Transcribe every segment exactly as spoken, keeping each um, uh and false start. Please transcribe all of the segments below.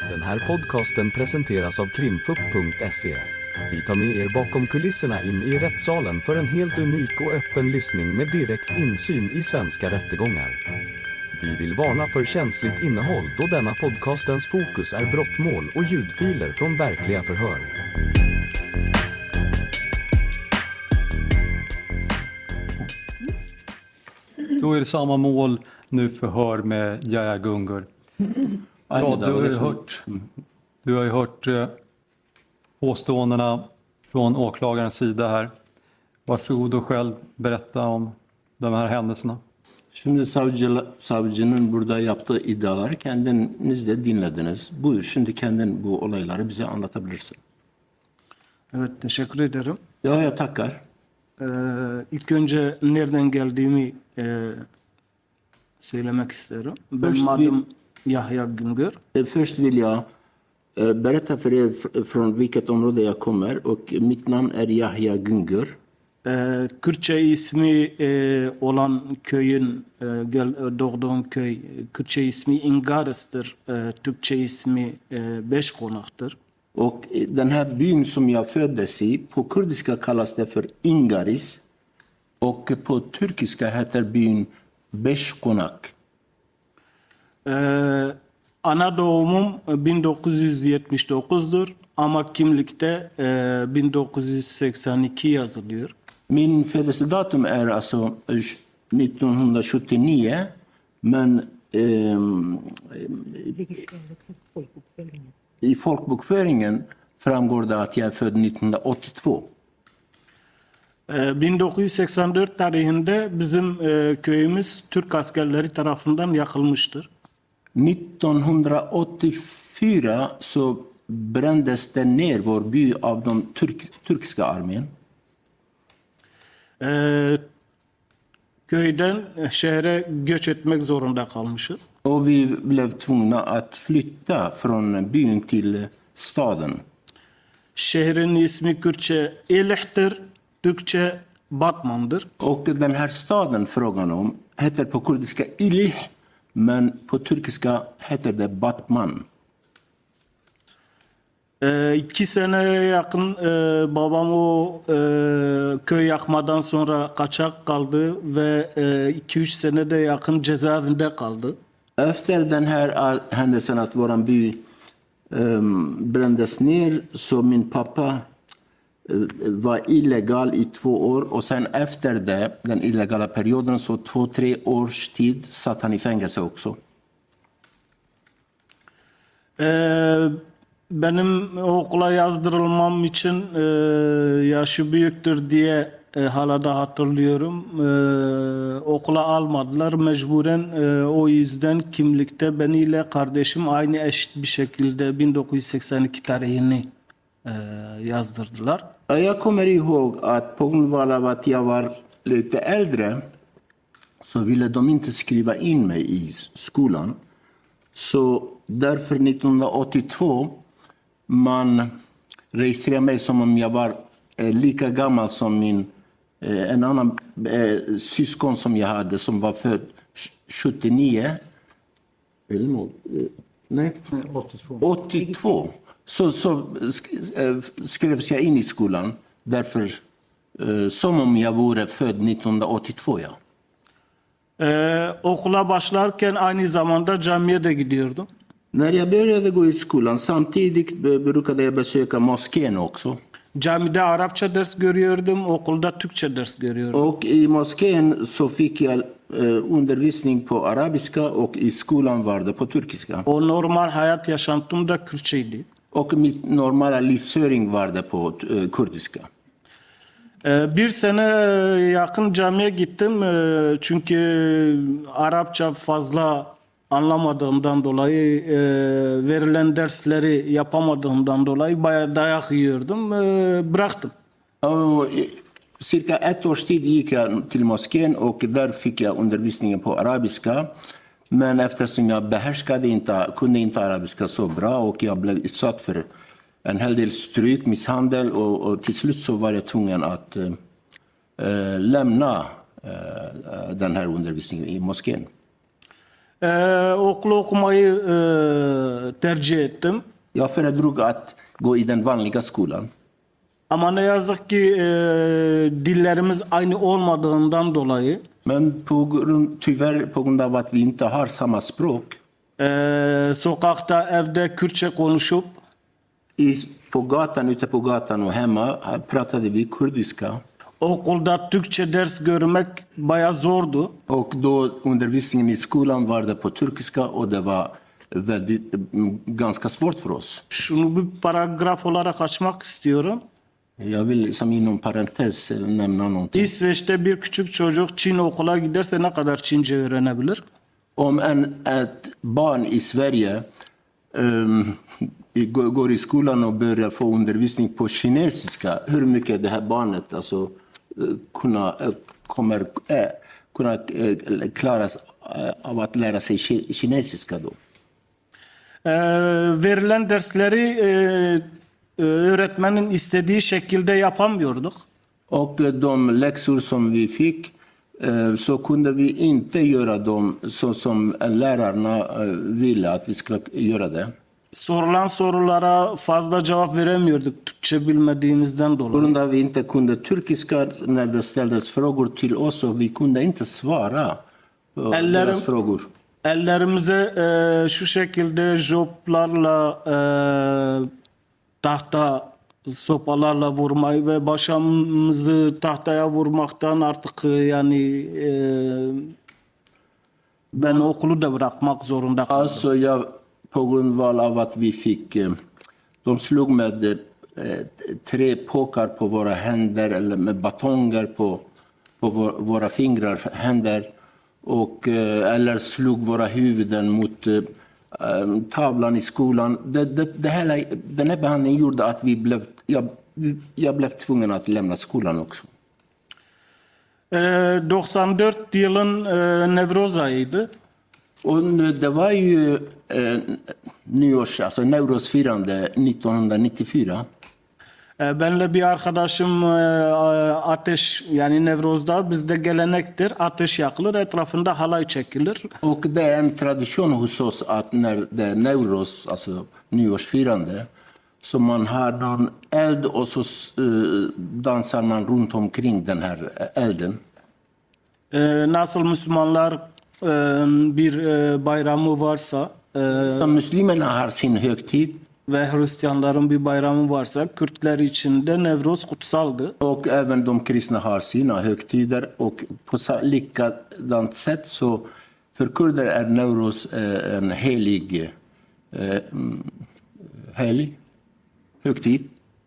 Den här podcasten presenteras av krimfupp punkt se. Vi tar med er bakom kulisserna in i rättssalen för en helt unik och öppen lyssning med direkt insyn i svenska rättegångar. Vi vill varna för känsligt innehåll då denna podcastens fokus är brottmål och ljudfiler från verkliga förhör. Då är det samma mål, nu förhör med Yahya Gungur. Ja, du har ju hört, du har ju hört eh, påståendena från åklagarens sida här. Varsågod och själv berätta om de här händelserna. Şimdi savcı, savcının burada yaptığı iddiaları kendiniz de dinlediniz. Buyur şimdi kendin bu olayları bize anlatabilirsin. Evet, teşekkür ederim. Ya ya tackar. Ee, ilk önce nereden geldiğimi e, söylemek isterim. Benim adım Yahya Gungur. Först vill jag eh, berätta för er från vilket område jag kommer och mitt namn är Yahya Gungur. Ee, Kürtçe ismi e, olan köyün e, gel, doğduğum köy Kürtçe ismi Ingares'tir. E, Türkçe ismi e, Beş Konak'tır. Och den här byn som jag föddes i, på kurdiska kallas det för Ingaris och på turkiska heter byn Beşkonak. Ee, ana doğumum bin dokuz yüz yetmiş dokuz'dur ama kimlikte e, bin dokuz yüz seksen iki yazılıyor. Min födelsedatum är alltså nittonhundrasjuttionio, men eh, i folkbokföringen framgår det att jag är född nittonhundraåttiotvå. Ee, bin dokuz yüz seksen dört tarihinde bizim e, köyümüz Türk askerleri tarafından yakılmıştır. nittonhundraåttiofyra så brändes det ner vår by av de turk, turkiska armén. Ee, köyden şehre göç etmek zorunda kalmışız. Och vi blev tvungna att flytta från byn till staden. Şehrin ismi Kürtçe Elih'tir, Türkçe Batman'dır. Och den här staden frågan om heter på kurdiska Ilih, men på turkiska heter det Batman. Ee, iki seneye yakın e, babam o e, köy yakmadan sonra kaçak kaldı ve e, iki üç senede yakın cezaevinde kaldı. Efter den här händelsen att våran by um, brändes ner så min pappa uh, var illegal i två år och sen efter det, den illegala perioden, så två, tre års tid satt han i fängelse också. Ee, benim okula yazdırılmam için e, yaşı büyüktür diye e, hala da hatırlıyorum. E, okula almadılar. Mecburen e, o yüzden kimlikte beniyle kardeşim aynı eşit bir şekilde bin dokuz yüz seksen iki tarihini e, yazdırdılar. Jag kommer ihåg att på grund av att jag var lite äldre så ville de inte skriva in mig i skolan. Så därför nittonhundraåttiotvå man registrerade mig som om jag var eh, lika gammal som min eh, en annan eh, syskon som jag hade som var född sjuttionio. Eller något, eh, nej, åttiotvå. åttiotvå. Så, så skrevs jag in i skolan därför eh, som om jag vore född nittonhundraåttiotvå, ja. Ee, okula başlarken aynı zamanda camiye de gidiyordum. När jag började gå i skolan samtidigt brukade jag besöka moskén också. Camide Arapça ders görüyordum, okulda Türkçe ders görüyordum. Och i moskén så fick jag eh, undervisning på arabiska och i skolan var det på turkiska. O normal hayat yaşantım da Kürtçeydi. Och mitt normala livsföring var det på eh, kurdiska. Ee, bir sene yakın camiye gittim ee, çünkü Arapça fazla anlamadığımdan dolayı e, verilen dersleri yapamadığımdan dolayı bayağı dayak yiyordum, e, bıraktım. Och, cirka ett års tid gick jag till moskén och där fick jag undervisningen på arabiska. Men eftersom jag behärskade inte, kunde inte arabiska så bra och jag blev utsatt för en hel del stryk, misshandel och, och till slut så var jag tvungen att eh, lämna eh, den här undervisningen i moskén. Ee, okulu okumayı e, tercih ettim. Jag föredrog att gå i den vanliga skolan. Ama ne yazık ki e, dillerimiz aynı olmadığından dolayı Men på grund, tyvärr på grund av att vi inte har samma språk, e, sokakta, evde Kürtçe konuşup i, på gatan, ute på gatan och hemma pratade vi kurdiska. okulda Türkçe ders görmek bayağı zordu. Och då undervisningen i skolan var det på turkiska och det var väldigt, ganska svårt för oss. Şunu bir paragraf olarak açmak istiyorum. Jag vill som inom parentes nämna någonting. İsveç'te bir küçük çocuk Çin okula giderse ne kadar Çince öğrenebilir? Om en, ett barn i Sverige um, går i skolan och börjar få undervisning på kinesiska, hur mycket det här barnet alltså, kunna, kommer äh, kunna äh, klaras äh, av att lära sig kinesiska då? Ee, verilen dersleri e, öğretmenin istediği şekilde yapamıyorduk. Och de läxor som vi fick så kunde vi inte göra dem så som lärarna ville att vi skulle göra det. Sorulan sorulara fazla cevap veremiyorduk Türkçe bilmediğimizden På dolayı. grund av att vi inte kunde turkiska när det ställdes frågor till oss och vi kunde inte svara på Ellerim- deras frågor. Ellerimize e, şu şekilde joplarla e, tahta sopalarla vurmayı ve başımızı tahtaya vurmaktan artık e, yani e, ben okulu da bırakmak zorunda kaldım. Alltså jag, på grundval av att vi fick, eh, de slog med eh, tre påkar på våra händer eller med batonger på, på vår, våra fingrar, händer och, eh, eller slog våra huvuden mot eh, tavlan i skolan. Det, det, det här, den här behandlingen gjorde att vi blev, jag, jag blev tvungen att lämna skolan också. E, doksan dört yılın e, Nevroz ayıydı. Och det var ju eh, nyårs, alltså Neurosfirande nittonhundranittiofyra. E, benle bir arkadaşım e, ateş yani Nevroz'da bizde gelenektir. Ateş yakılır, etrafında halay çekilir. Och det är en tradition hos oss att när det är Neuros, alltså nyårsfirande, så man har någon eld och så eh, dansar man runt omkring den här elden. E, nasıl Müslümanlar e, bir e, bayramı varsa e, Så muslimerna har sin högtid ve Hristiyanların bir bayramı varsa Kürtler için de Nevroz kutsaldı. och även de kristna har sina högtider och på sa- likadant sätt så för kurder är Neuros eh, en helig, eh, mm, helig högtid.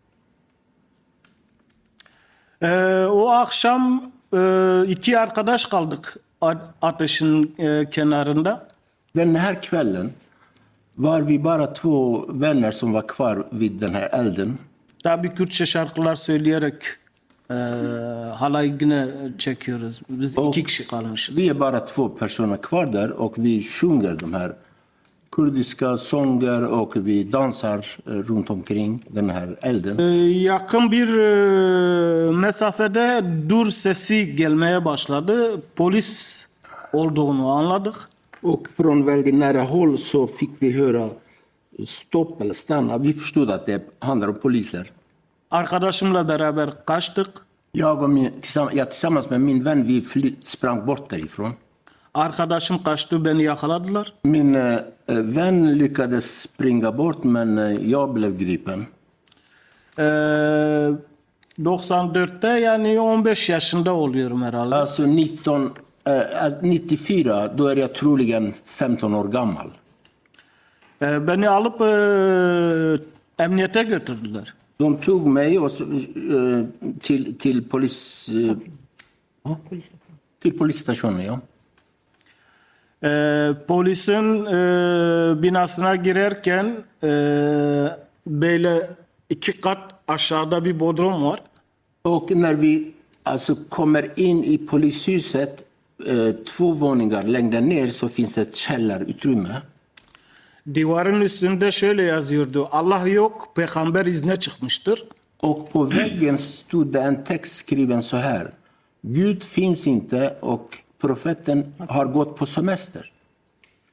E, o akşam e, iki arkadaş kaldık a- ateşin e, kenarında. Den här kvällen var vi bara två vänner som var kvar vid den här elden. Tabii Kürtçe şarkılar söyleyerek e, halay yine çekiyoruz. Biz O- iki kişi kalmışız. Vi är bara två personer kvar där och vi sjunger de här kurdiska sånger och vi dansar eh, runt omkring den här elden. E, yakın bir e, mesafede dur sesi gelmeye başladı. Polis olduğunu anladık. Och från väldigt nära håll så fick vi höra stopp eller stanna. Vi förstod att det handlar om poliser. Arkadaşımla beraber kaçtık. Jag och min, tillsammans, jag, tillsammans med min vän vi fly, sprang bort därifrån. Arkadaşım kaçtı, beni yakaladılar. Min eh, vän lyckades springa bort men eh, jag blev gripen. E, doksan dörtte yani on beş yaşında oluyorum herhalde. Alltså nitton, eh, nittiofyra, då är jag troligen femton år gammal. E, beni alıp e, emniyete götürdüler. De tog mig och, så, eh, till, till, polis, eh, till polisstationen. Ja. E, polisin e, binasına girerken e, böyle iki kat aşağıda bir bodrum var. Och när vi alltså, kommer in i polishuset, eh, två våningar längre ner så finns ett källarutrymme. Divarın üstünde şöyle yazıyordu. Allah yok, peygamber izne çıkmıştır. Och på väggen stod det en text skriven så här. Gud finns inte och profeten har gått på semester.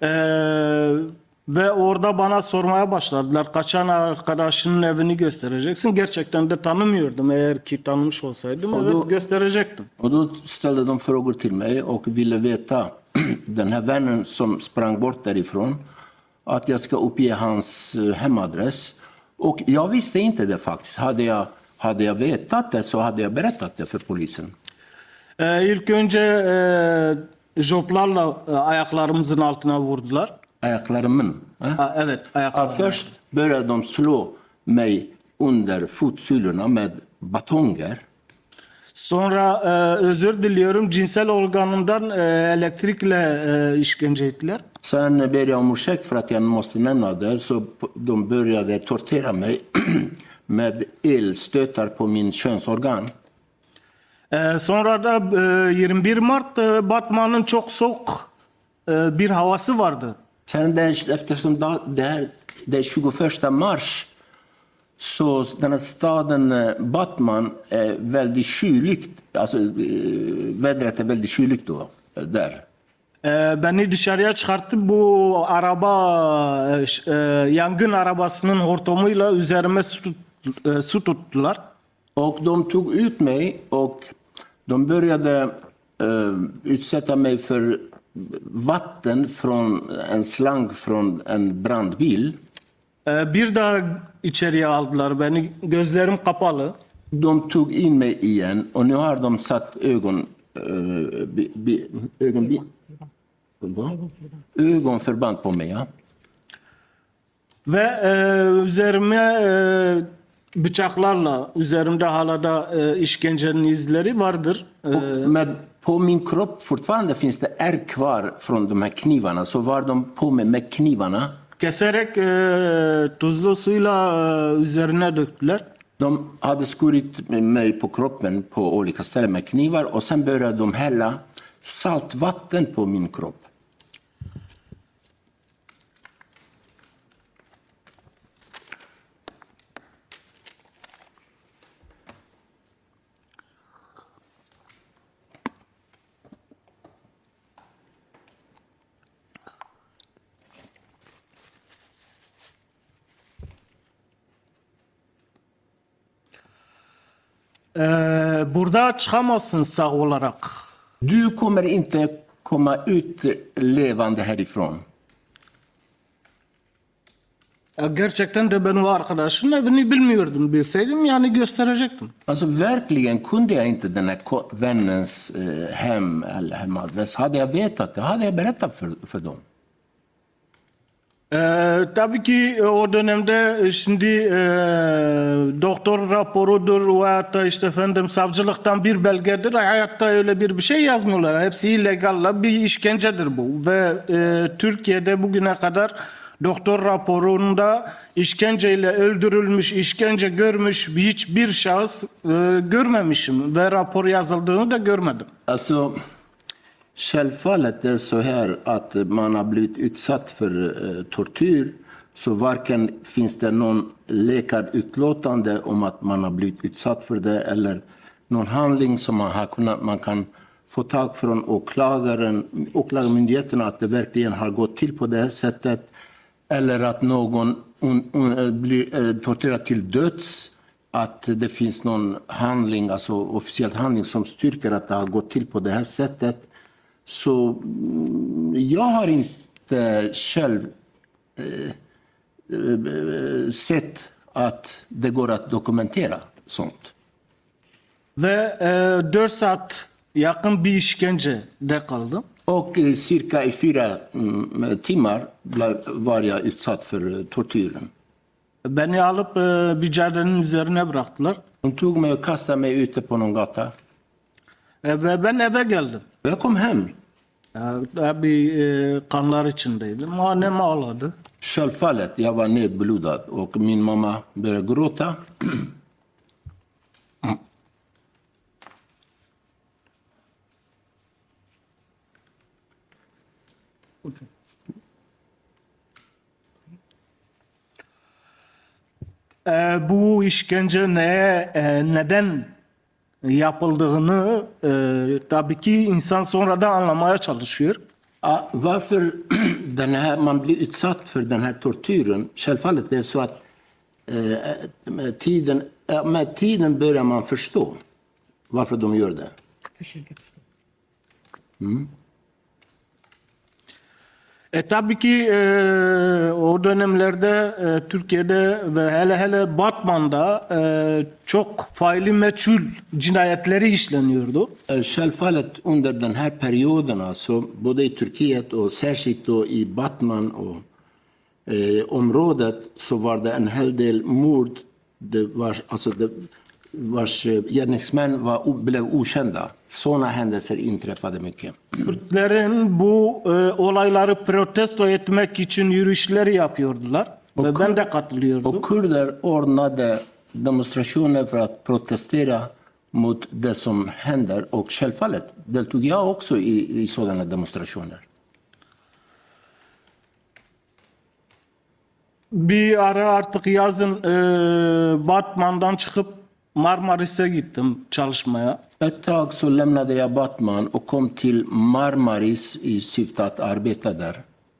Ee, ve orada bana sormaya başladılar. Kaçan arkadaşının evini göstereceksin. Gerçekten de tanımıyordum. Eğer ki tanımış olsaydım Och evet då- gösterecektim. Och då ställde de frågor till mig och ville veta den här vännen som sprang bort därifrån, att jag ska uppge hans eh, hemadress. Och jag visste inte det faktiskt. Hade jag, hade jag vetat det så hade jag berättat det för polisen. Ee, ilk önce e, joplarla e, ayaklarımızın altına vurdular. Ayaklarımın. eh? Ha, evet Ja, ayaklarım. först började de slå mig under fotsulorna med batonger. Sonra e, özür diliyorum cinsel organımdan e, elektrikle e, işkence ettiler. Sen ber jag om ursäkt för att jag måste nämna det, så de började tortera mig med elstötar på min könsorgan. E, sonra da e, yirmi bir Mart e, Batman'ın çok soğuk e, bir havası vardı. Sen den, eftersom da, det, här, det är tjugoförsta mars, så den här staden eh, Batman är väldigt kyligt, alltså eh, vädret är väldigt kyligt då, eh, där. E, beni dışarıya çıkarttı bu araba e, ş- e, yangın arabasının hortumuyla üzerime su, tut- e, su tuttular. Och de tog ut mig och de började eh, utsätta mig för vatten från en slang från en brandbil. E, bir daha içeriye aldılar beni, gözlerim kapalı. De tog in mig igen och nu har de satt ögon, eh, bi, bi, ögon, bi, vad? ögonförband på mig. Ja? Ve e, üzerime e, bıçaklarla, üzerimde hala da e, işkencenin izleri vardır. E, Och med, på min kropp fortfarande finns det ärr kvar från de här knivarna, så var de på mig med knivarna. keserek e, tuzlu suyla e, üzerine döktüler. De hade skurit mig på kroppen på olika ställen med knivar och sen började de hälla saltvatten på min kropp. E, burada çıkamazsın sağ olarak. Du kommer inte komma ut levande härifrån. E, gerçekten de ben o arkadaşın evini bilmiyordum. Bilseydim yani gösterecektim. Alltså verkligen kunde jag inte den här ko- vännens eh, hem eller hemadress. Hade jag vetat det hade jag berättat för, för dem. Ee, tabii ki e, o dönemde e, şimdi e, doktor raporudur veyahut da işte efendim savcılıktan bir belgedir. Hayatta öyle bir bir şey yazmıyorlar. Hepsi illegal bir işkencedir bu. Ve e, Türkiye'de bugüne kadar doktor raporunda işkenceyle öldürülmüş, işkence görmüş hiçbir şahıs e, görmemişim. Ve rapor yazıldığını da görmedim. Alltså, självfallet är det så här att man har blivit utsatt för eh, tortyr, så varken finns det någon läkarutlåtande om att man har blivit utsatt för det eller någon handling som man, har kunnat, man kan få tag från åklagaren, åklagarmyndigheterna att det verkligen har gått till på det här sättet, eller att någon un, un, blir eh, torterad till döds, att det finns någon handling, alltså officiell handling som styrker att det har gått till på det här sättet. Så mm, jag har inte själv eh, eh, sett att det går att dokumentera sånt. Ve e, dört saat yakın bir işkencede kaldım. Och eh, cirka i fyra mm, timmar blev, var jag utsatt för eh, tortyren. Beni alıp e, bir caddenin üzerine bıraktılar. De tog mig och kastade mig ute på någon gata. E, ve ben eve geldim. Jag kom hem. Ya, tabii e, kanlar içindeydim. Annem ağladı. Självfallet, jag var nedblodad och min mamma började gråta. E, bu işkence neye, e, neden yapıldığını e, tabii ki insan sonradan anlamaya çalışıyor. Ja, varför den här, man blir utsatt för den här tortyren. Självfallet det är så att eh, med, tiden, med tiden börjar man förstå varför de gör det. Mm. E, tabii ki e, o dönemlerde e, Türkiye'de ve hele hele Batman'da e, çok faili meçhul cinayetleri işleniyordu. Självfallet under den här perioden, alltså, både i Turkiet och särskilt då i Batman och eh, området, så var det en hel del mord. Det var, alltså det, vars gärningsmän var, blev okända. Sådana händelser inträffade mycket. Kürtlerin bu e, olayları protesto etmek için yürüyüşler yapıyordular. Och Ve ben Kur- de katılıyordum. Och kurder ordnade demonstrationer för att protestera mot det som händer. Och självfallet deltog jag också i, i sådana demonstrationer. Bir ara artık yazın e, Batman'dan çıkıp Marmaris'e gittim çalışmaya. Ett tag så lämnade jag Batman och kom till Marmaris i syfte att arbeta där.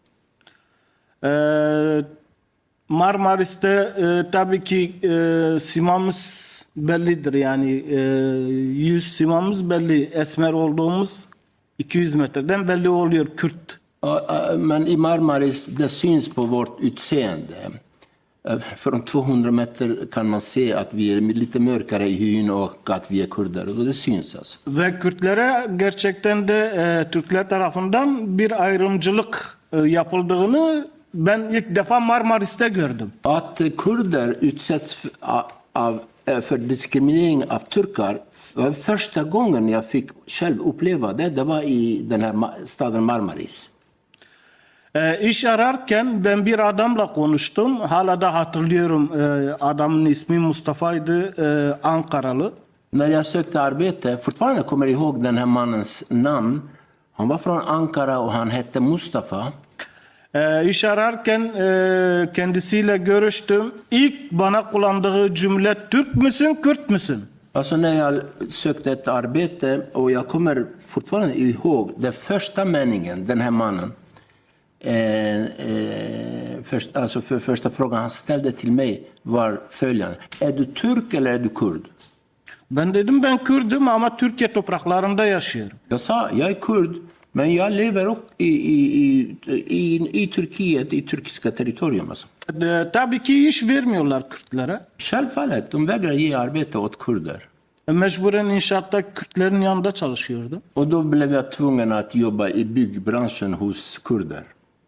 E, Marmaris'te e, tabii ki e, simamız bellidir, yani e, yüz simamız belli, esmer olduğumuz iki yüz metreden belli oluyor, Kürt. Ja, äh, Men i Marmaris, det syns på vårt utseende. Äh, Från tvåhundra meter kan man se att vi är lite mörkare i hyn och att vi är kurder. Och det syns alltså. Ve Kürtlere gerçekten de e, Türkler tarafından bir ayrımcılık e, yapıldığını ben ilk defa Marmaris'te gördüm. Att kurder utsätts för, av, för diskriminering av turkar, för första gången jag fick själv uppleva det, det var i den här staden Marmaris. E, iş ararken ben bir adamla konuştum. Hala da hatırlıyorum, e, adamın ismi Mustafa'ydı, e, Ankaralı. När jag sökte arbete, fortfarande kommer jag ihåg den här mannens namn. Han var från Ankara och han hette Mustafa. E, iş ararken e, kendisiyle görüştüm. İlk bana kullandığı cümle, Türk müsün, Kürt müsün? Alltså när jag sökte ett arbete, och jag kommer fortfarande ihåg den första meningen, den här mannen. Eh, eh, först, alltså för första frågan han ställde till mig var följande: är du turk eller är du kurd? Ben dedim ben Kürdüm ama Türkiye topraklarında yaşıyorum. Jag sa jag är kurd, men jag lever upp i, i, i, i, i Turkiet, i turkiska territorium. Alltså. E, tabii ki iş vermiyorlar Kürtlere. Självfallet, de vägrar ge arbete åt kurder. E, mecburen inşaatta Kürtlerin yanında çalışıyordum. Och då blev jag tvungen att jobba i byggbranschen hos kurder.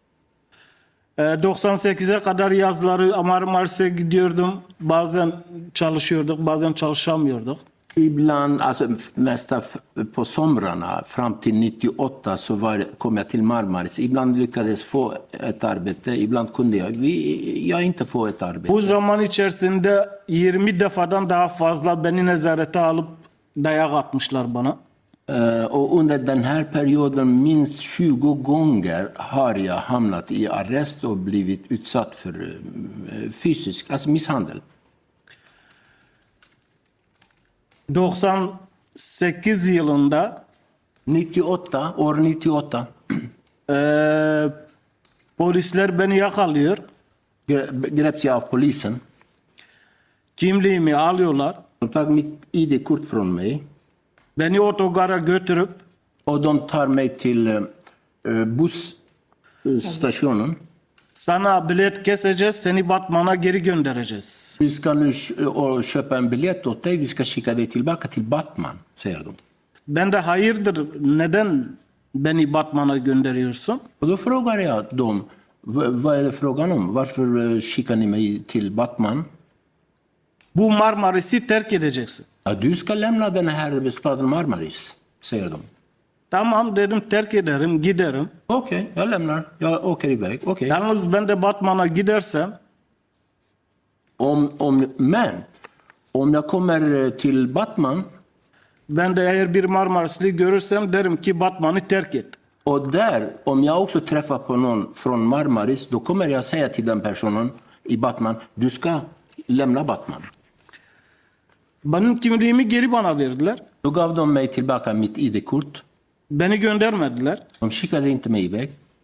E, doksan sekize kadar yazları Marmaris'e gidiyordum. Bazen çalışıyorduk, bazen çalışamıyorduk. Ibland, alltså mesta på somrarna fram till nittioåtta så var, kom jag till Marmaris. Ibland lyckades få ett arbete, ibland kunde jag, vi, jag inte få ett arbete. Bu zaman içerisinde yirmi defadan daha fazla beni nezarete alıp dayak atmışlar bana. Uh, och under den här perioden minst tjugo gånger har jag hamnat i arrest och blivit utsatt för uh, fysisk, alltså misshandel. doksan sekiz yılında nittioåtta, år nittioåtta. e, polisler beni yakalıyor. Greps jag av polisen. Kimliğimi alıyorlar. De tog mitt I D-kort från mig. Beni otogara götürüp Och de tar mig till uh, busstationen. sana bilet keseceğiz, seni Batman'a geri göndereceğiz. Vi ska nu och köpa en biljett åt dig, vi ska skicka dig tillbaka till Batman, säger de. Ben de hayırdır, neden beni Batman'a gönderiyorsun? Och då frågar jag dem, vad är det frågan om? Varför skickar ni mig till Batman? Bu Marmaris'i terk edeceksin. Ja, du ska lämna den här staden Marmaris, säger de. Tamam dedim, terk ederim, giderim. Okej, okay, jag lämnar. Jag åker iväg. Okej. Okay. Yalnız ben de Batman'a gidersem Om, om, men om jag kommer till Batman ben de eğer bir Marmarisli görürsem derim ki Batman'ı terk et. och där, om jag också träffar på någon från Marmaris, då kommer jag säga till den personen i Batman, du ska lämna Batman. Benim kimliğimi geri bana verdiler. Då gav de mig tillbaka mitt I D-kort. Beni göndermediler. De skickade inte mig iväg.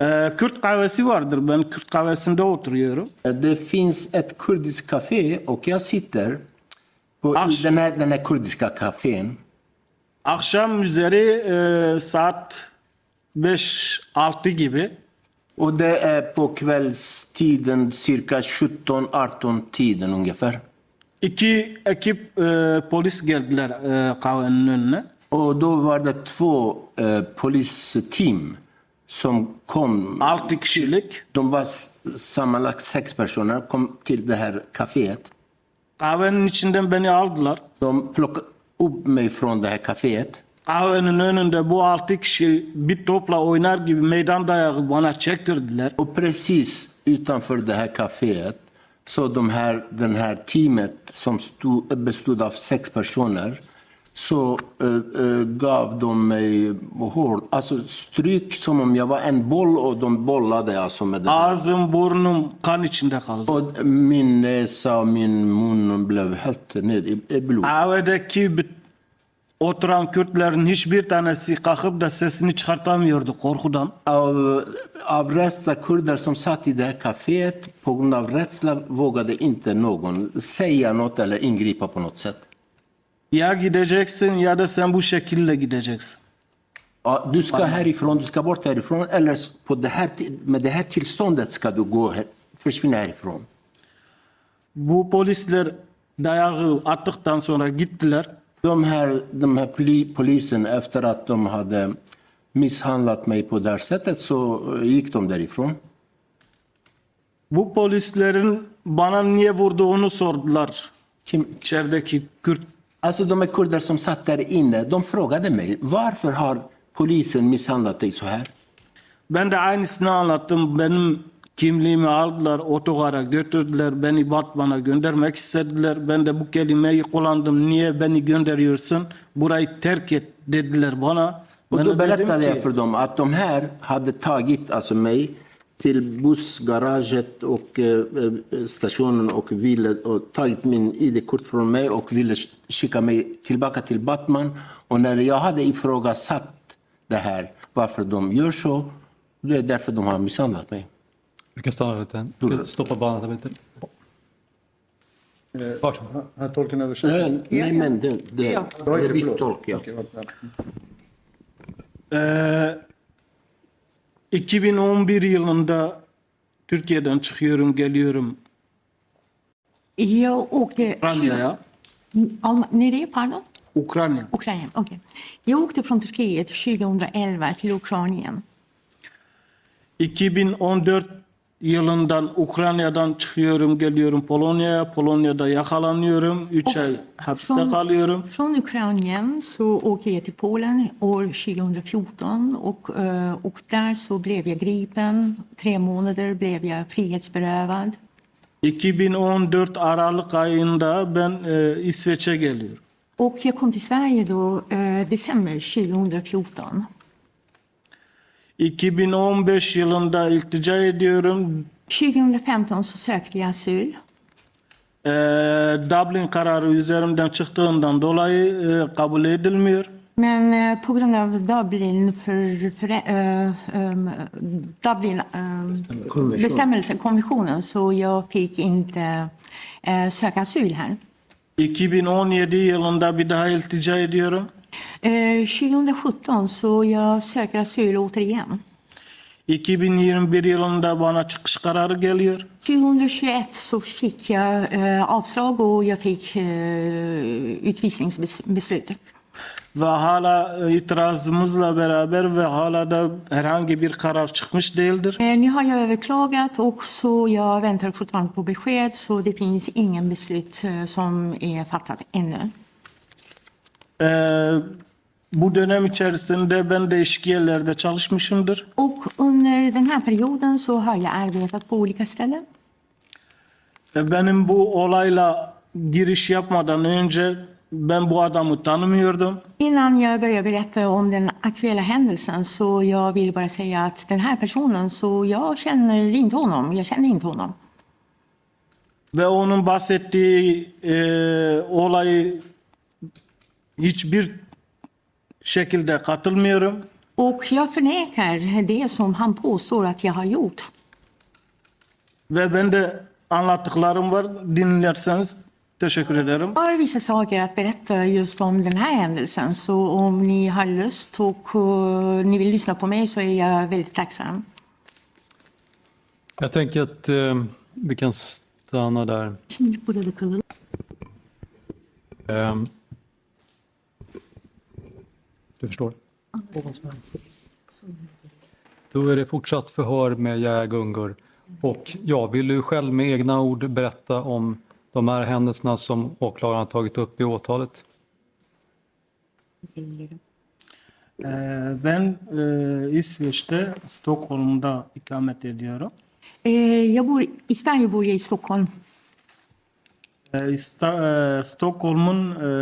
Ee, Kürt kahvesi vardır. Ben Kürt kahvesinde oturuyorum. Det finns ett kurdiskt café och jag sitter på, i Asch. den här, den här kurdiska kafén. Akşam üzeri e, saat beş altı gibi Och det är på kvällstiden cirka sjutton arton tiden ungefär. iki ekip e, polis geldiler e, kahvenin önüne. Och då var det två eh, polisteam som kom. Altı kişilik. De var s- sammanlagt sex personer, kom till det här kaféet. Kahvenin içinden beni aldılar. De plockade upp mig från det här kaféet. Kahvenin önünde bu altı kişi bir topla oynar gibi meydan dayağı bana çektirdiler. Och precis utanför det här kaféet så de här, den här teamet som stod, bestod av sex personer så eh, eh, gav de mig hård, alltså stryk som om jag var en boll och de bollade alltså med det där. Ağzım burnum kan içinde kaldı. Och min näsa och min mun blev helt ned i, i blod. Kahvedeki bir- oturan Kürtlerin hiçbir tanesi kalkıp da sesini çıkartamıyordu korkudan. Av, av rädsla kurder som satt i det här kaféet, på grund av rädsla vågade inte någon säga något eller ingripa på något sätt. Ya gideceksin ya da sen bu şekilde gideceksin. Ja, du ska härifrån, du ska bort härifrån eller på det här, med det här tillståndet ska du gå här, försvinna härifrån. Bu polisler dayağı attıktan sonra gittiler. De här, de här poli, polisen, efter att de hade misshandlat mig på det här sättet så gick de därifrån. Bu polislerin bana niye vurduğunu sordular. Kim, İçerideki Kürt. alltså de här kurder som satt där inne, de frågade mig varför har polisen misshandlat dig så här? Ben de aynısını anlattım. Benim kimliğimi aldılar, otogara götürdüler. Beni Batman'a göndermek istediler. Ben de bu kelimeyi kullandım. Niye beni gönderiyorsun? Burayı terk et dediler bana. Och Ben då de dedim berättade jag ki, för dem att de här hade tagit alltså mig till bussgaraget och eh, stationen och ville och tagit min I D-kort från mig och ville skicka mig tillbaka till Batman. Och när jag hade ifrågasatt det här, varför de gör så, det är därför de har misshandlat mig. Vi kan stanna lite. Vi kan stoppa bandet lite. Varsågod. Här tolken översätter. Nej, nej men det, det, Ja, det är okej, ditt förlåt. tolk, ja. Okej, vänta. Ee, iki bin on bir yılında Türkiye'den çıkıyorum, geliyorum Jag åkte... Ukrayna'ya. Alma, nereye pardon? Ukrayna. Ukraina, okej. Jag åkte från Turkiet tjugoelva till Ukraina. iki bin on dört yılından Ukrayna'dan çıkıyorum, geliyorum Polonya'ya. Polonya'da yakalanıyorum. üç ay hapiste Från, kalıyorum. från Ukraina så åker jag till Polen år tjugohundrafjorton och, eh, och där så blev jag gripen. Tre månader blev jag frihetsberövad. iki bin on dört Aralık ayında ben e, İsveç'e geliyorum. Och jag kom till Sverige då eh, december tjugohundrafjorton. iki bin on beş yılında iltica ediyorum. tjugohundrafemton så sökte jag asyl. E, Dublin kararı üzerimden çıktığından dolayı e, kabul edilmiyor. Men eh, på grund av Dublin för, för eh, um, Dublin eh, bestämmelse, konventionen, så jag fick inte eh, söka asyl här. iki bin on yedi yılında bir daha iltica ediyorum. Eh, tjugohundrasjutton så jag söker asyl återigen. iki bin yirmi bir yılında bana çıkış kararı geliyor. tjugohundratjugoett så fick jag eh, avslag och jag fick eh, utvisningsbeslut. Ve hala e, itirazımızla beraber ve hala da herhangi bir karar çıkmış değildir. Eh, nu har jag överklagat och så jag väntar fortfarande på besked, så det finns ingen beslut eh, som är fattat ännu. Ee, bu dönem içerisinde ben değişik yerlerde çalışmışımdır. Och under den här perioden så har jag arbetat på olika ställen. Ee, benim bu olayla giriş yapmadan önce ben bu adamı tanımıyordum. Innan jag börjar berätta om den aktuella händelsen så jag vill bara säga att den här personen, så jag känner inte honom. Jag känner inte honom. Ve onun bahsettiği e, olayı hiçbir şekilde katılmıyorum. Och jag förnekar det som han påstår att jag har gjort. Ve ben de anlattıklarım var. Dinlerseniz teşekkür ederim. Jag har vissa saker att berätta just om den här händelsen. Så om ni har lust och uh, ni vill lyssna på mig så är jag väldigt tacksam. Jag tänker att eh, vi kan stanna där. Şimdi burada kalalım. Eh, du förstår? Då är det fortsatt förhör med Yahya Gungur. Och ja, vill du själv med egna ord berätta om de här händelserna som åklagaren har tagit upp i åtalet? Ee, ben e, İsveç'te Stockholm'da ikamet ediyorum. Eh, jag bor, I Sverige bor jag i Stockholm. Ee, İsta, e, Stockholm'un e,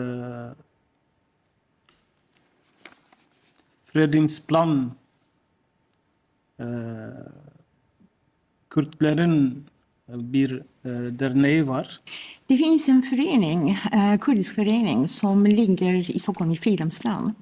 Fredrimsplan e, Kürtlerin bir e, derneği var. Det finns en förening, eh, kurdisk förening som ligger i Stockholm i Fridhemsplan.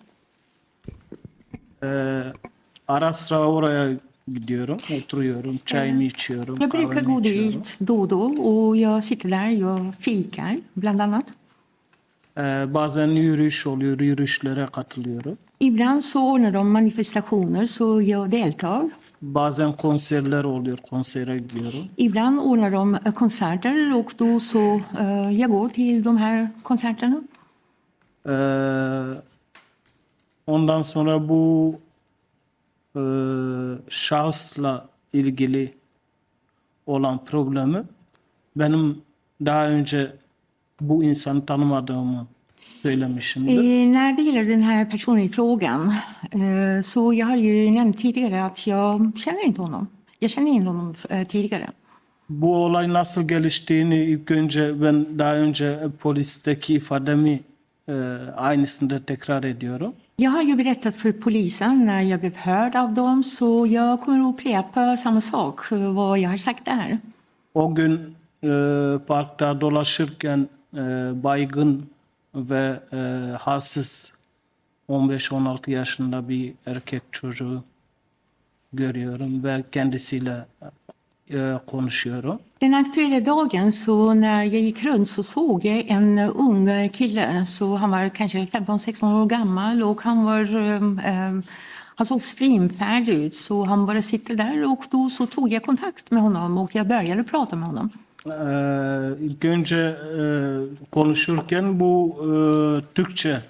Ee, ara sıra oraya gidiyorum, oturuyorum, çayımı içiyorum, Jag brukar kahvemi gå içiyorum. dit då och då och jag sitter där, jag fikar bland annat. Ee, bazen yürüyüş oluyor, yürüyüşlere katılıyorum. Ibland så ordnar de manifestationer så jag deltar. Bazen konserler oluyor, konsere gidiyorum. Ibland ordnar de eh, konserter och då så eh, jag går till de här konserterna. Ee, ondan sonra bu e, şahısla ilgili olan problemi benim daha önce bu insanı tanımadığımı söylemişimdir. Eh, när det gäller den här personen i frågan eh, så jag har ju nämnt tidigare att jag känner inte honom. Jag känner in honom eh, tidigare. Bu olay nasıl geliştiğini ilk önce ben daha önce polisteki ifademi e, aynısını tekrar ediyorum. Jag har ju berättat för polisen när jag blev hörd av dem så jag kommer att upprepa samma sak, eh, vad jag har sagt där. O gün e, parkta dolaşırken e, baygın ve e, halsiz on beş on altı yaşında bir erkek çocuğu görüyorum ve kendisiyle e, konuşuyorum. Den aktuella dagen så när jag gick runt så såg jag en ung kille, så han var kanske femton sexton år gammal och han var eh, han såg svimfärdig ut så han bara sitter där och då så tog jag kontakt med honom och jag började prata med honom. Ee, ilk önce e, konuşurken bu e, Türkçe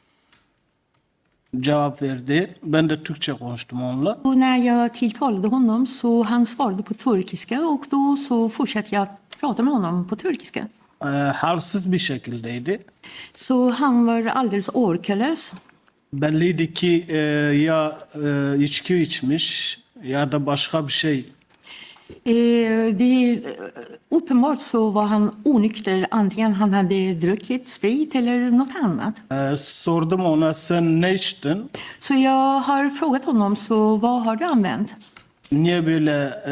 cevap verdi. Ben de Türkçe konuştum onunla. Och när jag tilltalade honom så han svarade på turkiska och då så fortsatte jag att prata med honom på turkiska. Ee, halsiz bir şekildeydi. Så han var alldeles orkalös. Belliydi ki e, ya e, içki içmiş ya da başka bir şey. Eh, det, uppenbart så var han onykter, antingen han hade druckit sprit eller något annat. Ee, sordum ona sen ne içtin? Så jag har frågat honom, så vad har du använt? Niye böyle e,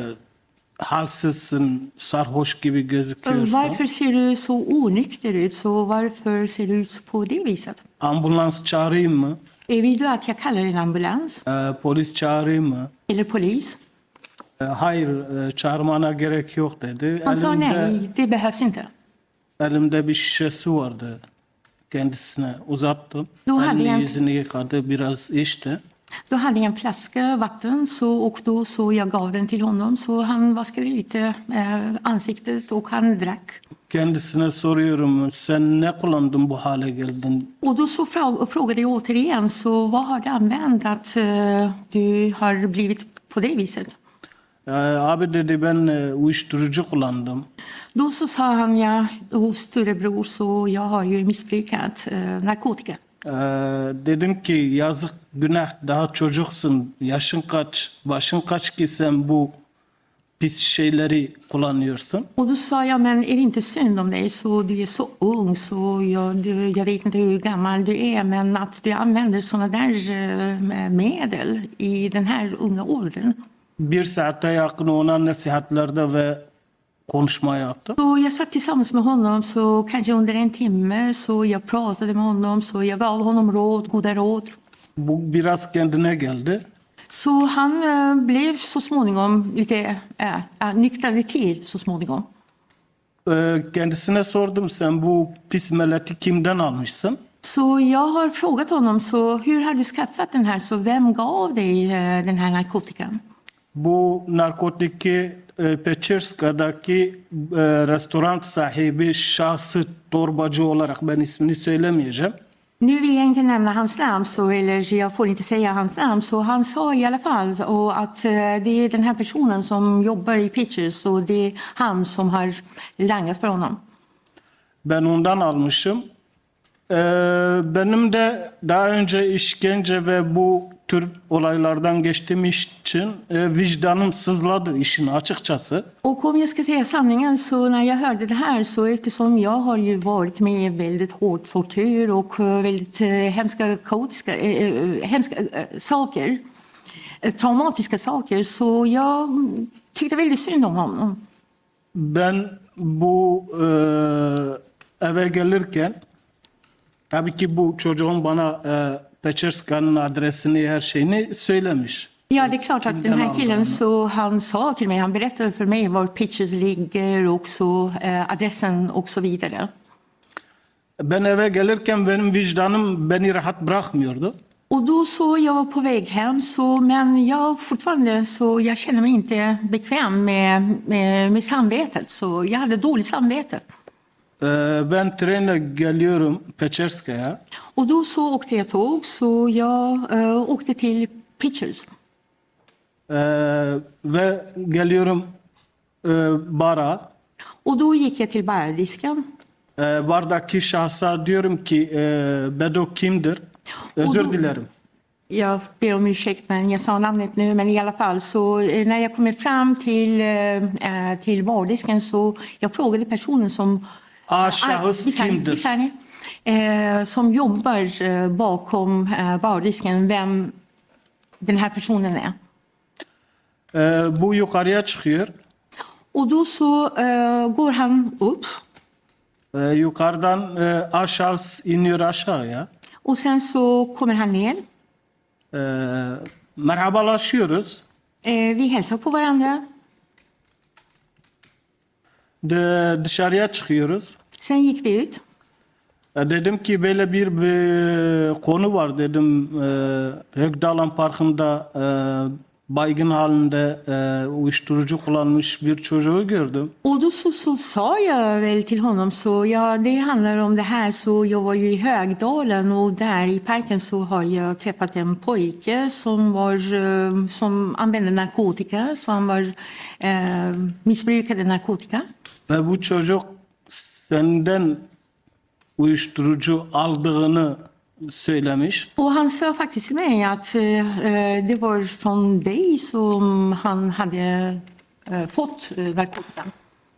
halsizsin, sarhoş gibi gözüküyorsun? Varför ser du så onykter ut? Så varför ser du ut på det viset? Ambulans çağırayım mı? Eh, Vill du att jag kallar en ambulans? Ee, polis çağırayım mı? Eller polis? Ee, hayır, e, çağırmana gerek yok dedi. Han sa Elimde, nej, det behövs inte. elimde bir şişe su vardı. Kendisine uzattım. Då hade Elini jag, yüzünü yıkadı, biraz içti. då hade jag en flaska vatten så, och då så jag gav den till honom så han vaskade lite eh, ansiktet och han drack. Kendisine soruyorum, sen ne kullandın bu hale geldin? Och då så frå- frågade jag återigen, så vad har du använt att eh, du har blivit på det viset? Ee, abi dedi ben e, uyuşturucu kullandım. Då så sa han, ja, hos storebror så jag har ju missbrukat eh, narkotika. Ee, dedim ki yazık, günah, daha çocuksun. Yaşın kaç, başın kaç ki sen bu pis şeyleri kullanıyorsun? Och då sa jag, men är det inte synd om dig, så du är så ung, så jag, du, jag vet inte hur gammal du är, men att du använder sådana där eh, medel i den här unga åldern. Bir saate yakın ona nasihatlerde ve konuşma yaptım. Så jag satt tillsammans med honom så kanske under en timme, så jag pratade med honom, så jag gav honom råd, goda råd. Bu biraz kendine geldi. Så han eh, blev så småningom lite eh, eh, nyktrade till så småningom. Ee, kendisine sordum, sen bu pis meleti kimden almışsın? Så jag har frågat honom, så hur har du skaffat den här? Så vem gav dig eh, den här narkotikan? Bu narkotiki e, Pecherska'daki e, restoran sahibi şahsı torbacı olarak, ben ismini söylemeyeceğim. Nu vill jag inte nämna hans namn, så, eller jag får inte säga hans namn, så han sa i alla fall och att eh, det är den här personen som jobbar i Pitchers, och det är han som har langat för honom. Ben ondan almışım. Ee, benim de daha önce işkence ve bu tür olaylardan geçtiğim için e, vicdanım sızladı işin açıkçası. Och om jag ska säga sanningen, så när jag hörde det här, så eftersom jag har ju varit med väldigt hård tortyr och eh, väldigt eh, hemska, kaotiska, eh, eh, hemska eh, saker, eh, traumatiska saker, så jag mm, tyckte väldigt synd om honom. Ben bu e, eve gelirken, tabii ki bu çocuğun bana e, Pecherska'nın adresini, her şeyini söylemiş. Ja, det är klart att den här killen, så han sa till mig, han berättade för mig var Pitchers ligger och så eh, adressen och så vidare. Ben eve gelirken benim vicdanım beni rahat bırakmıyordu. Och då så, jag var på väg hem, så, men jag fortfarande, så jag känner mig inte bekväm med, med, med samvetet, så jag hade dåligt samvete. Ee, ben trenle geliyorum Pecherska'ya. Och då så åkte jag tåg, så jag eh, åkte till Pitchers. Ee, ve geliyorum e, bara. Och då gick jag till bardisken. Ee, bardaki şahsa diyorum ki e, Bedo kimdir? Özür Odu- dilerim. Jag ber om ursäkt, men jag sa namnet nu, men i alla fall, så eh, när jag kommer fram till, eh, eh, till bardisken, så jag frågade personen som A şahıs Bir saniye, bir kimdir? saniye. Eh, som jobbar eh, bakom eh, bardisken, vem den här personen är. Ee, bu yukarıya çıkıyor. Och då så eh, går han upp, Ee, yukarıdan e, A şahıs iniyor aşağıya. och sen så kommer han ner. Ee, merhabalaşıyoruz. Eh, vi hälsar på varandra. De, dışarıya çıkıyoruz. Sen gick vi ut. E, Dedim ki böyle bir, bir konu var dedim. E, Högdalen Parkı'nda e, baygın halinde e, uyuşturucu kullanmış bir çocuğu gördüm. Och då så, så sa jag väl till honom, så ja, det handlar om det här, så jag var ju i Högdalen, och där i parken så har jag träffat en pojke som var, eh, som använde narkotika, så han var, eh, missbrukade narkotika. Ve bu çocuk senden uyuşturucu aldığını söylemiş. Och han sa faktiskt till mig att eh, det var från dig som han hade eh, fått eh, narkotikan.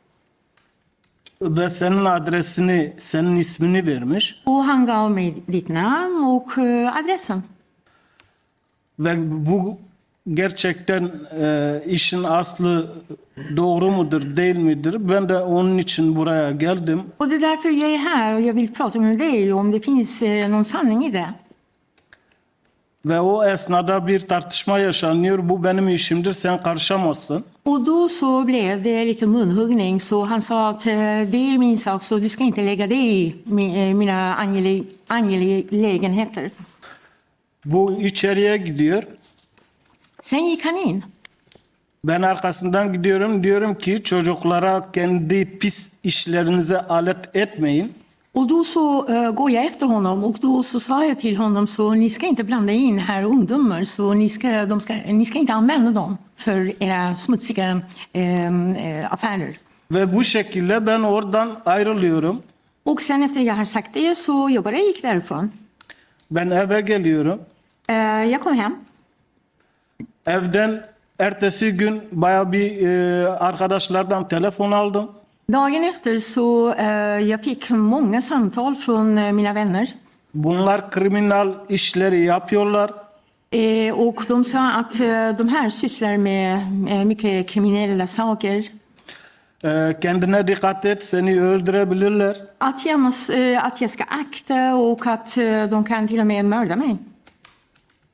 Ve senin adresini, senin ismini vermiş. Och han gav mig ditt namn och eh, adressen. Ve bu gerçekten e, işin aslı doğru mudur, değil midir? Ben de onun için buraya geldim. Och det är därför jag är här, och jag vill prata med dig om det finns eh, någon sanning i det. Ve o esnada bir tartışma yaşanıyor. Bu benim işimdir, sen karışamazsın. Och då så blev det lite munhuggning, så han sa att eh, det är min sak, så du ska inte lägga dig i mi- eh, mina angele- angelägenheter. Bu içeriye gidiyor. Sen gick han in. Ben arkasından gidiyorum. Diyorum ki çocuklara kendi pis işlerinize alet etmeyin. Och då så eh, går jag efter honom, och då så sa jag till honom, så ni ska inte blanda in här ungdomar, så ni ska, de ska, ni ska inte använda dem för era smutsiga eh, eh, affärer. Ve bu şekilde ben oradan ayrılıyorum. Och sen efter jag har sagt det, så jag bara gick därifrån. Ben eve geliyorum. Eh, jag kom hem. Evden ertesi gün bayağı bir e, arkadaşlardan telefon aldım. Dagen efter så eh, jag fick många samtal från eh, mina vänner. Bunlar kriminal işleri yapıyorlar. Eh, och de sa att eh, de här sysslar med eh, mycket kriminella saker. E, kendine dikkat et, seni öldürebilirler. Att jag, måste, eh, att jag ska akta, och att eh, de kan till och med mörda mig.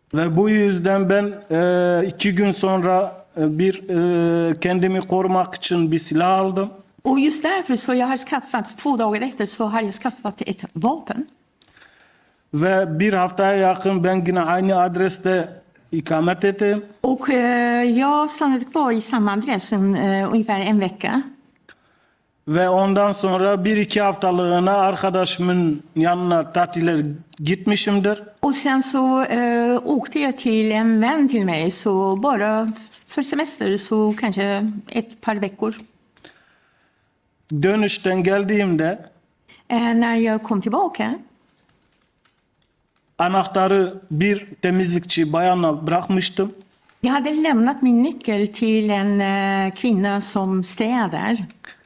Ve bu yüzden ben e, iki gün sonra e, bir e, kendimi korumak için bir silah aldım. Och just därför så jag har skaffat, två dagar efter så har jag skaffat ett vapen. Ve bir haftaya yakın ben yine aynı adreste ikamet ettim. Och eh, jag stannade kvar i samma adress eh, ungefär en vecka. Ve ondan sonra bir iki haftalığına arkadaşımın yanına tatile gitmişimdir. Och sen så eh, åkte jag till en vän till mig, så bara för semester, så kanske ett par veckor. Dönüşten geldiğimde Eh, när jag kom tillbaka anahtarı bir temizlikçi bayana bırakmıştım. jag hade lämnat min nyckel till en eh, kvinna som städar.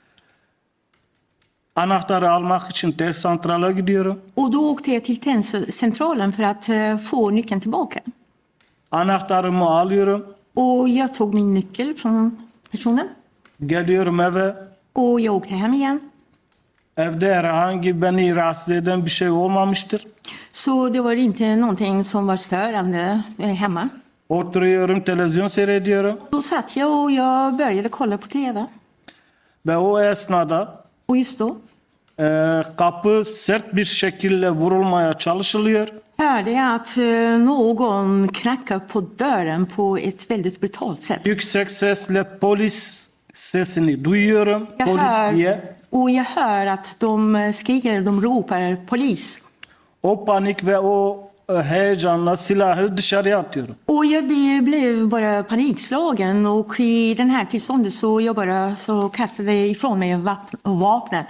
Anahtarı almak için test santrala gidiyorum. Och då åkte jag till tenncentralen för att eh, få nyckeln tillbaka. Anahtarımı alıyorum. Och jag tog min nyckel från personen. Geliyorum eve. Och jag åkte hem igen. Evde herhangi beni rahatsız eden bir şey olmamıştır. Så det var inte någonting som var störande eh, hemma. Oturuyorum, televizyon seyrediyorum. Då satt jag och jag började kolla på T V. Ve o esnada Och just då e, kapı sert bir şekilde vurulmaya çalışılıyor. hörde jag att eh, någon knackade på dörren på ett väldigt brutalt sätt. Yüksek sesle polis sesini duyuyorum. Jag Polis hör, diye. och jag hör att de eh, skriker, de ropar polis. O panik ve o e, heyecanla silahı dışarıya atıyorum. Och jag be- blev bara panikslagen, och i den här tillståndet så jag bara så kastade ifrån mig vap- vapnet.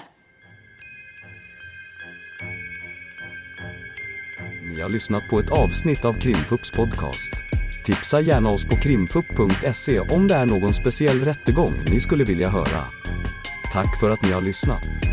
Ni har lyssnat på ett avsnitt av Krimfupps podcast. Tipsa gärna oss på krimfupp punkt se om det är någon speciell rättegång ni skulle vilja höra. Tack för att ni har lyssnat.